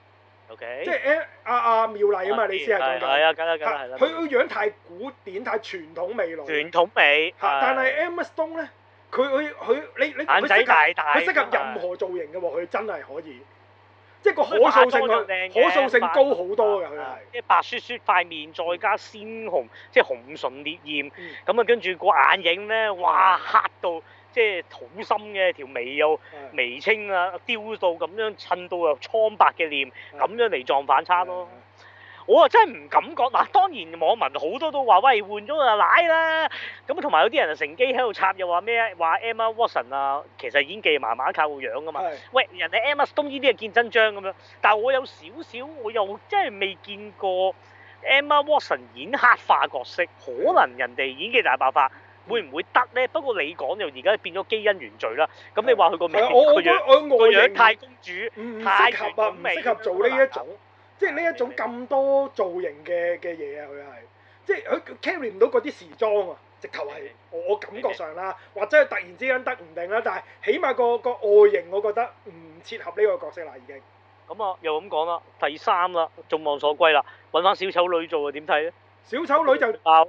OK。 即係阿妙麗啊嘛，你先係講緊。 係啊，梗係啦。 佢個樣太古典，太傳統味濃。 傳統味。 但係 Emma Stone 咧，你眼仔大大。 佢適合任何造型嘅喎，佢真係可以。即係個可塑性高好多㗎，佢係。 即係白雪雪塊面，再加鮮紅，即係紅唇烈焰。咁啊，跟住個眼影咧，哇黑到即係土深嘅，條眉又眉清啊，雕到咁樣襯到又蒼白嘅臉，咁樣嚟撞反差咯。我啊真係唔敢講嗱，當然網民好多都話喂換咗就奶啦，咁同埋有啲人啊乘機喺度插又話咩話 Emma Watson 啊，其實演技麻麻靠個樣噶嘛，喂人哋 Emma Stone 呢啲係見真章咁樣，但係我有少少我又真係未見過 Emma Watson 演黑化角色，可能人哋演技大爆發會唔會得咧？不過你講就而家變咗基因原罪啦，咁你話佢個名個樣太公主，太適合啊，唔適合做呢一種。即係呢一種咁多造型嘅嘢啊，佢係，即係佢 carry 唔到嗰啲時裝啊，直頭係我感覺上啦，或者係突然之間得唔定啦，但係起碼個外形我覺得唔切合呢個角色啦已經。 咁啊，又咁講啦，第三啦，眾望所歸啦，揾翻小丑女做啊，點睇咧？ 小丑女就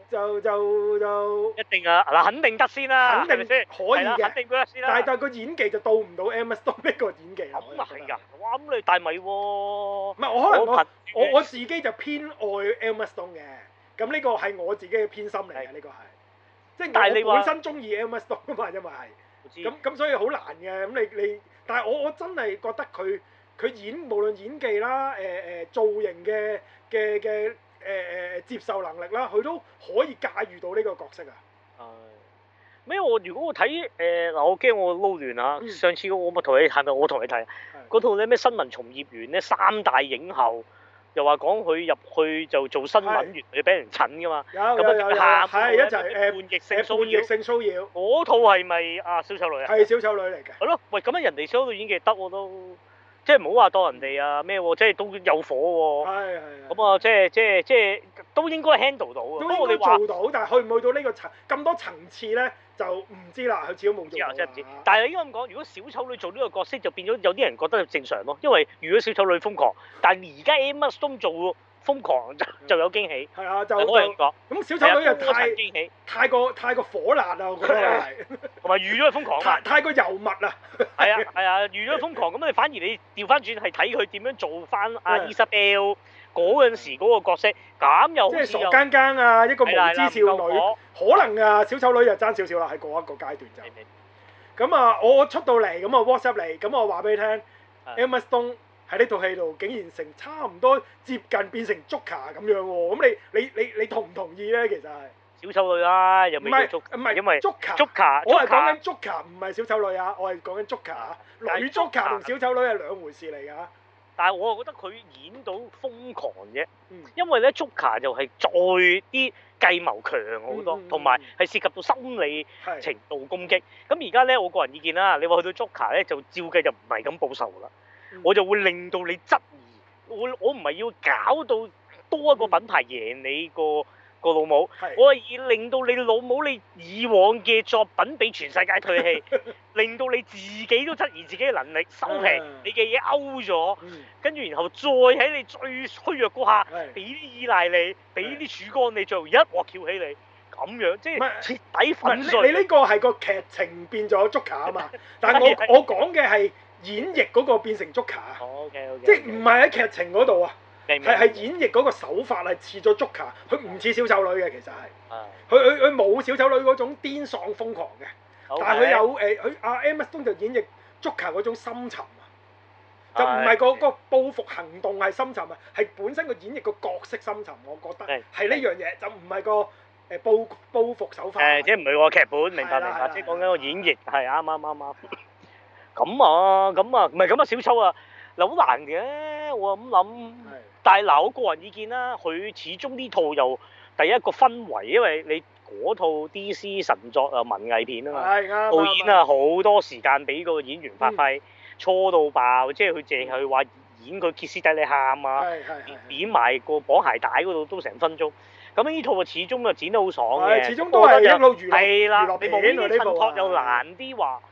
一定啊，嗱肯定得先啦， 肯定可以嘅， 肯定得先啦。 但係個演技就到唔到 Emma Stone 呢個演技。 咁啊係㗎，哇咁你大米喎。 唔係我可能我自己就偏愛 Emma Stone 嘅，咁呢個係我自己嘅偏心嚟嘅，呢個係。即係我本身中意 Emma Stone 啊嘛，因為係。咁所以好難嘅，咁你，但係我真係覺得佢無論演技啦，造型嘅接受能力啦，佢都可以駕馭到呢個角色啊。 咩？如果我睇嗱，我驚我撈亂啊！上次我咪同你係咪我同你睇嗰套咧咩新聞從業員咧3大影后，又話講佢入去就做新聞員，要俾人診㗎嘛。有係一齊叛逆性騷擾。嗰套係咪小丑女啊？ 係小丑女嚟嘅。 係咯，喂咁樣人哋小丑女演技得我都。即係唔好話當人哋啊咩喎，即係都有火喎。係。咁啊，即係都應該 handle 到。 都應該做到，但係去唔去到呢個咁多層次咧，就唔知啦。佢始終冇做到。 真係唔知。但係應該咁講，如果小丑女做呢個角色，就變咗有啲人覺得正常咯。因為如果小丑女瘋狂，但係而家 Emma Stone 做瘋狂就有驚喜。係啊，就好人講。咁小丑女又太過火辣啊！我覺得係。同埋預咗佢瘋狂啊！太過油密啊！係啊，預咗瘋狂咁你反而你調翻轉係睇佢點樣做翻阿 Isabel 嗰陣時嗰個角色，咁又好似即係傻更更啊，一個無知少女，可能啊小丑女又爭少少啦，喺嗰一個階段就。咁啊，我出到嚟咁啊 WhatsApp 嚟，咁我話俾你聽 Emma Stone 喺呢套戲度竟然成差唔多接近變成 Joker 咁樣喎，咁你同唔同意咧？其實係。 小丑女啦，又未叫唔係，因為 Joker， 我係講緊 Joker，唔係小丑女啊，我係講緊 Joker 啊，女 Joker 同小丑女係兩回事嚟㗎。 但係我覺得佢演到瘋狂啫，因為咧 Joker 就係再啲計謀強好多，同埋係涉及到心理程度攻擊。咁而家咧，我個人意見啦，你話去到 Joker 咧，就照計就唔係咁報仇啦，我就會令到你質疑，我唔係要搞到多一個品牌贏你個老母，我係要令到你老母你以往嘅作品俾全世界唾棄，令到你自己都質疑自己嘅能力，收皮，你嘅嘢勾咗，跟住然後再喺你最虛弱嗰下，俾啲依賴你，俾啲曙光你，最後一鑊翹起你，咁樣即係徹底粉碎。 你呢個係個劇情變咗 Joker 啊嘛，但係我講嘅係演繹嗰個變成 Joker 啊，即係唔係喺劇情嗰度啊。係演繹嗰個手法係似咗 Joker，佢唔似小丑女嘅其實係，佢冇小丑女嗰種癲喪瘋狂嘅，但係佢有佢阿 Emma Stone 就演繹 Joker 嗰種深沉啊，就唔係個報復行動係深沉啊，係本身個演繹個角色深沉，我覺得係呢樣嘢，就唔係個報復手法。 即係唔係個劇本，明白，即係講緊個演繹係啱。咁啊，唔係咁啊，小丑啊，嗱好難嘅，我咁諗。但係嗱，我個人意見啦，佢始終呢套又第一個氛圍，因為你嗰套 DC 神作啊文藝片啊嘛，導演啊好多時間俾個演員發揮，錯到爆，即係佢淨係話演佢歇斯底里喊啊，點埋個綁鞋帶嗰度都成分鐘。咁呢套啊始終啊剪得好爽嘅， 始終都係一路娛樂係啦，你冇呢啲襯托又難啲話。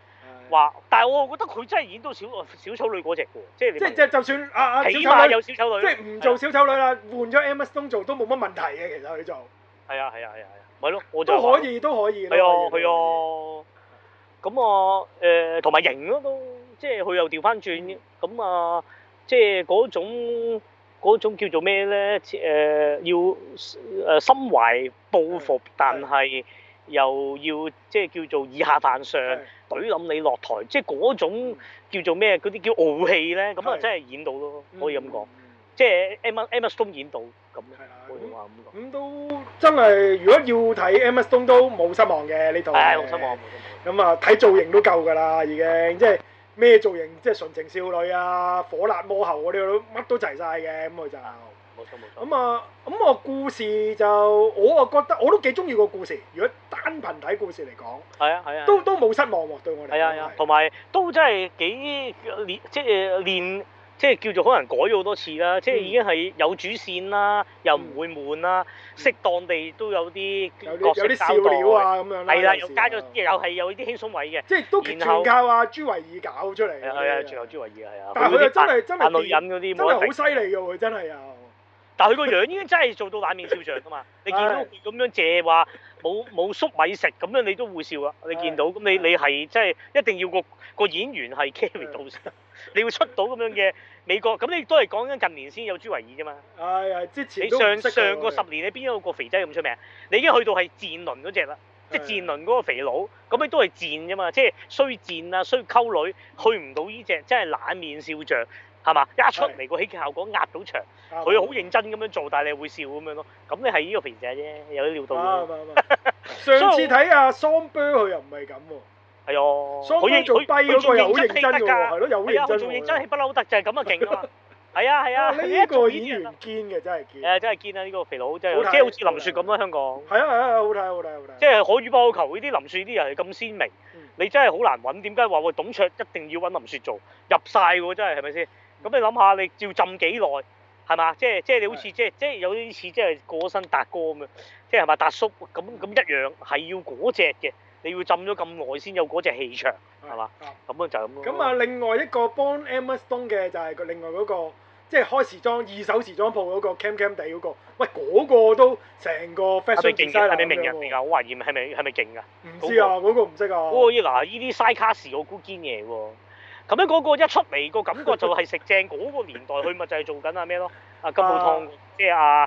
話，但係我覺得佢真係演到小丑女嗰隻喎，即係即係就算起碼有小丑女， 即係唔做小丑女啦，換咗 Emma Stone 做都冇乜問題嘅，其實佢做。 係啊，咪咯，我就都可以。係啊。咁啊同埋型咯都，即係佢又調翻轉，咁啊即係嗰種叫做咩咧？要心懷報復，但係又要即係叫做以下犯上，懟冧你落台，即係嗰種叫做咩？嗰啲叫傲氣咧，咁啊真係演到咯，可以咁講。即係 Emma Stone 演到咁，可以話咁講。咁都真係，如果要睇 Emma Stone 都冇失望嘅呢套。係冇失望。 咁啊，睇造型都夠㗎啦，已經即係咩造型，即係純情少女啊、火辣魔后嗰啲都乜都齊晒嘅，咁佢就。 冇錯。 咁我故事就我啊覺得我都幾中意個故事。如果單憑睇故事嚟講，係啊，都冇失望喎，對我嚟講。係啊， 同埋都真係幾練。即係叫做可能改咗好多次啦，即係已經係有主線啦，又唔會悶啦，適當地都有啲角色交代，有啲笑料啊咁樣啦。係啦，又加咗，又係有啲輕鬆位嘅。即係都全靠阿朱維爾搞出嚟。係啊，全靠朱維爾係啊。但係佢又真係女人嗰啲，真係好犀利㗎喎！真係又。但係佢個樣已經真係做到冷面笑匠㗎嘛！你見到佢咁樣借話冇粟米食咁樣，你都會笑啊！你見到咁你係真係一定要個演員係 carry 到先，你會出到咁樣嘅美國咁，你都係講緊近年先有朱維爾啫嘛。係之前你上個10年你邊有個肥仔咁出名？你已經去到係賤倫嗰隻啦，即係賤倫嗰個肥佬，咁你都係賤啫嘛，即係衰賤啊，衰溝女，去唔到呢隻真係冷面笑匠。係嘛？一出嚟個喜劇效果壓到場，佢好認真咁樣做，但係你會笑咁樣咯。咁你係呢個肥仔啫，有啲料到。 上次睇阿桑波佢又唔係咁喎。係啊。 桑波做跛嗰個又好認真㗎喎，係咯，又好認真。做認真戲不嬲得，就係咁啊勁啊嘛。係啊。 呢個演員堅嘅真係堅。 真係堅啊！呢個肥佬真係，即係好似林雪咁啦，香港。 係啊，好睇。 即係可遇不可求，呢啲林雪啲人係咁鮮明，你真係好難揾。點解話喂董卓一定要揾林雪做入晒喎？真係係咪先？咁你諗下，你要浸幾耐係嘛？即係你好似即係有啲似即係過身達哥咁樣，即係嘛達叔咁一樣係要嗰隻嘅，你要浸咗咁耐先有嗰隻氣場係嘛？咁啊就咁咯。咁另外一個幫 Emma Stone 嘅就係佢另外嗰個，即係開時裝二手時裝鋪嗰個 cam 地嗰個，喂嗰個都成個 fashion designer 係咪名人嚟㗎？我懷疑係咪勁㗎？ 唔知啊，嗰個唔識啊。 嗱，呢啲 side cast 我估堅嘢喎。咁樣嗰個一出嚟個感覺就係食正嗰個年代，佢咪就係做緊咩咯？金寶湯，即係阿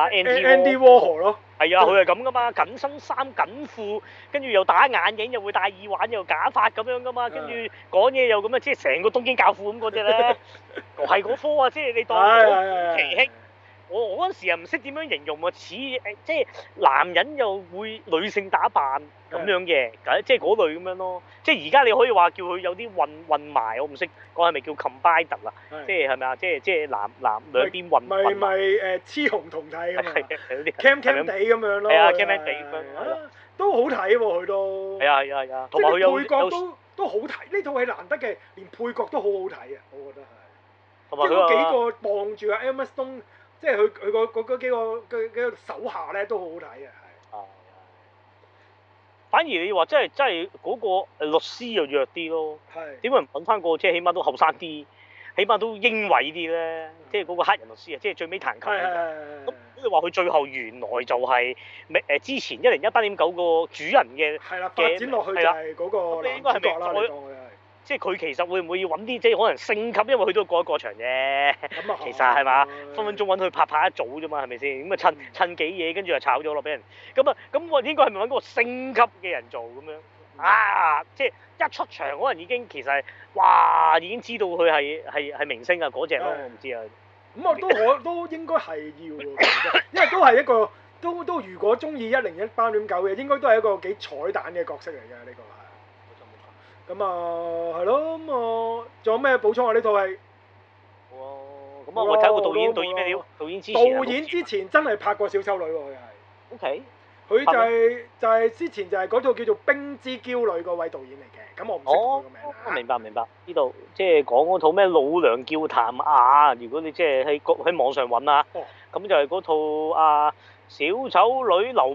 Andy Warhol 咯。 係啊，佢係咁噶嘛，緊身衫緊褲，跟住又戴眼鏡，又會戴耳環，又假髮咁樣噶嘛，跟住講嘢又咁啊，即係成個東京教父咁嗰隻咧，係嗰科啊，即係你當奇興。我嗰陣時又唔識點樣形容啊，似即係男人又會女性打扮咁樣嘅，即係嗰類咁樣咯。即係而家你可以話叫佢有啲混埋，我唔識講係咪叫 combined 啦？即係係咪啊？即係男兩邊混。咪雌雄同體咁啊！cam 地咁樣咯。 係啊，cam 地咁樣。 都好睇喎，佢都。 係啊。同埋佢有配角都好睇，呢套戲難得嘅，連配角都好好睇啊！我覺得係。同埋佢幾個望住阿 Emma Stone。即係佢嗰幾個手下咧都好好睇嘅，係。 反而你話真係嗰個律師又弱啲咯。係。點解唔揾翻個即係起碼都後生啲，起碼都英偉啲咧？即係嗰個黑人律師啊，即係最尾彈琴。咁你話佢最後原來就係之前101.9個主人嘅。係啦，發展落去就係嗰個男主角啦。即係佢其實會唔會要揾啲即係可能升級，因為佢都過場啫。其實係嘛，分分鐘揾佢拍一組啫嘛，係咪先？咁啊趁幾嘢，跟住就炒咗落俾人。咁我應該係咪揾嗰個升級嘅人做咁樣？啊！即係一出場可能已經其實哇已經知道佢係明星啊嗰隻咯，我唔知啊。 咁我都應該係要喎，因為都係一個都如果中意101.9嘅，應該都係一個幾彩蛋嘅角色嚟嘅呢個係。咁啊，係咯，咁啊，仲有咩補充啊？呢套戲？ 咁啊，我睇個導演咩料？導演之前真係拍過小丑女喎，佢係。 O K。 佢就係之前就係嗰套叫做《冰之嬌女》嗰位導演嚟嘅，咁我唔識佢個名啊。 明白。呢度即係講嗰套咩老娘叫譚雅，如果你即係喺網上揾啊，咁就係嗰套小丑女溜冰。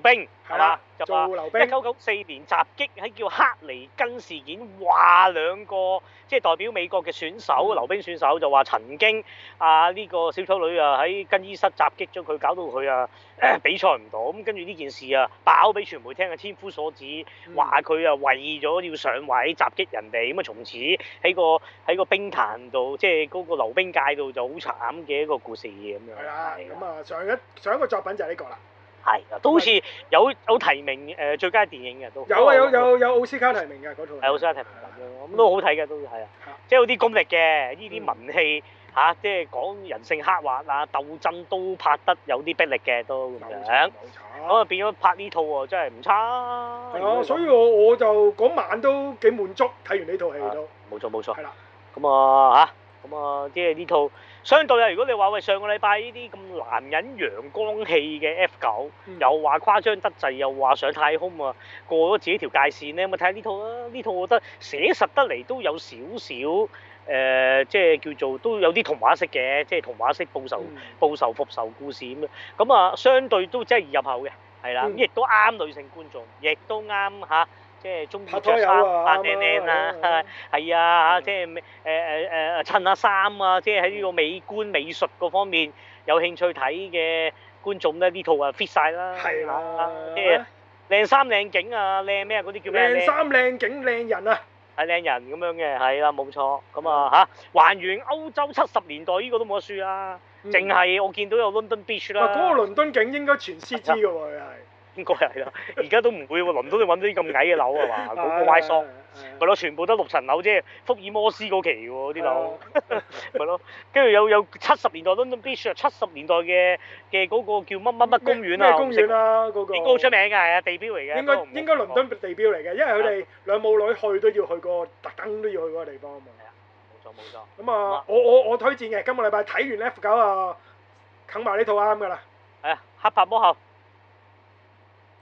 係嘛？就話做溜冰。 1994年襲擊喺叫克尼根事件，話兩個即係代表美國嘅選手，溜冰選手就話曾經呢個小丑女喺更衣室襲擊咗佢，搞到佢比賽唔到。咁跟住呢件事爆俾傳媒聽天夫所指，話佢為咗要上位襲擊人哋，咁從此喺個冰壇度，即係嗰個溜冰界度就好慘嘅一個故事咁樣。 係啦，咁上一個作品就係呢個啦。 係啊，都好似有提名最佳電影嘅都。 有奧斯卡提名嘅嗰套。係奧斯卡提名咁樣，咁都好睇嘅都係啊，即係有啲功力嘅，呢啲文戲即係講人性刻畫鬥爭都拍得有啲逼力嘅都咁樣。咁變咗拍呢套喎，真係唔差。 係啊，所以我就嗰晚都幾滿足，睇完呢套戲都。 冇錯。 係啦。 咁即係呢套相對如果你話喂上個禮拜呢啲咁男人陽光氣嘅 F9，又話誇張得滯，又話上太空過咗自己條界線咧，咁睇下呢套啦。呢套我覺得寫實得嚟都有少少即係叫做都有啲童話式嘅，即係童話式報仇復仇故事咁樣。咁相對都真係易入口嘅，係啦，咁亦都啱女性觀眾，亦都啱即係中意着衫扮靚靚啦，係啊，即係襯下衫即係喺呢個美觀美術嗰方面有興趣睇嘅觀眾咧，呢套fit 晒啦， 係啦， 即係靚衫靚景靚咩嗰啲叫咩？ 靚衫靚景靚人啊！ 係靚人咁樣嘅，係啦，冇錯。咁還原歐洲70年代呢個都冇得輸啦，淨係我見到有 London Beach 啦。 嗰個倫敦景應該全 CG 嘅喎，佢係。 應該係啦，而家都唔會喎，倫敦你揾到啲咁矮嘅樓係嘛？嗰個 Y 桑咪咯，全部得6層樓啫，福爾摩斯嗰期喎啲樓，咪咯，跟住有70年代 London Beach 70年代嘅嗰個叫乜公園啊？ 咩公園啊？嗰個應該好出名㗎，係啊，地標嚟嘅。 應該倫敦地標嚟嘅，因為佢哋兩母女去都要去過，特登都要去嗰個地方啊嘛。 係啊，冇錯。 咁我推薦嘅，今個禮拜睇完 F9啃埋呢套啱㗎啦。 係啊，黑白魔后。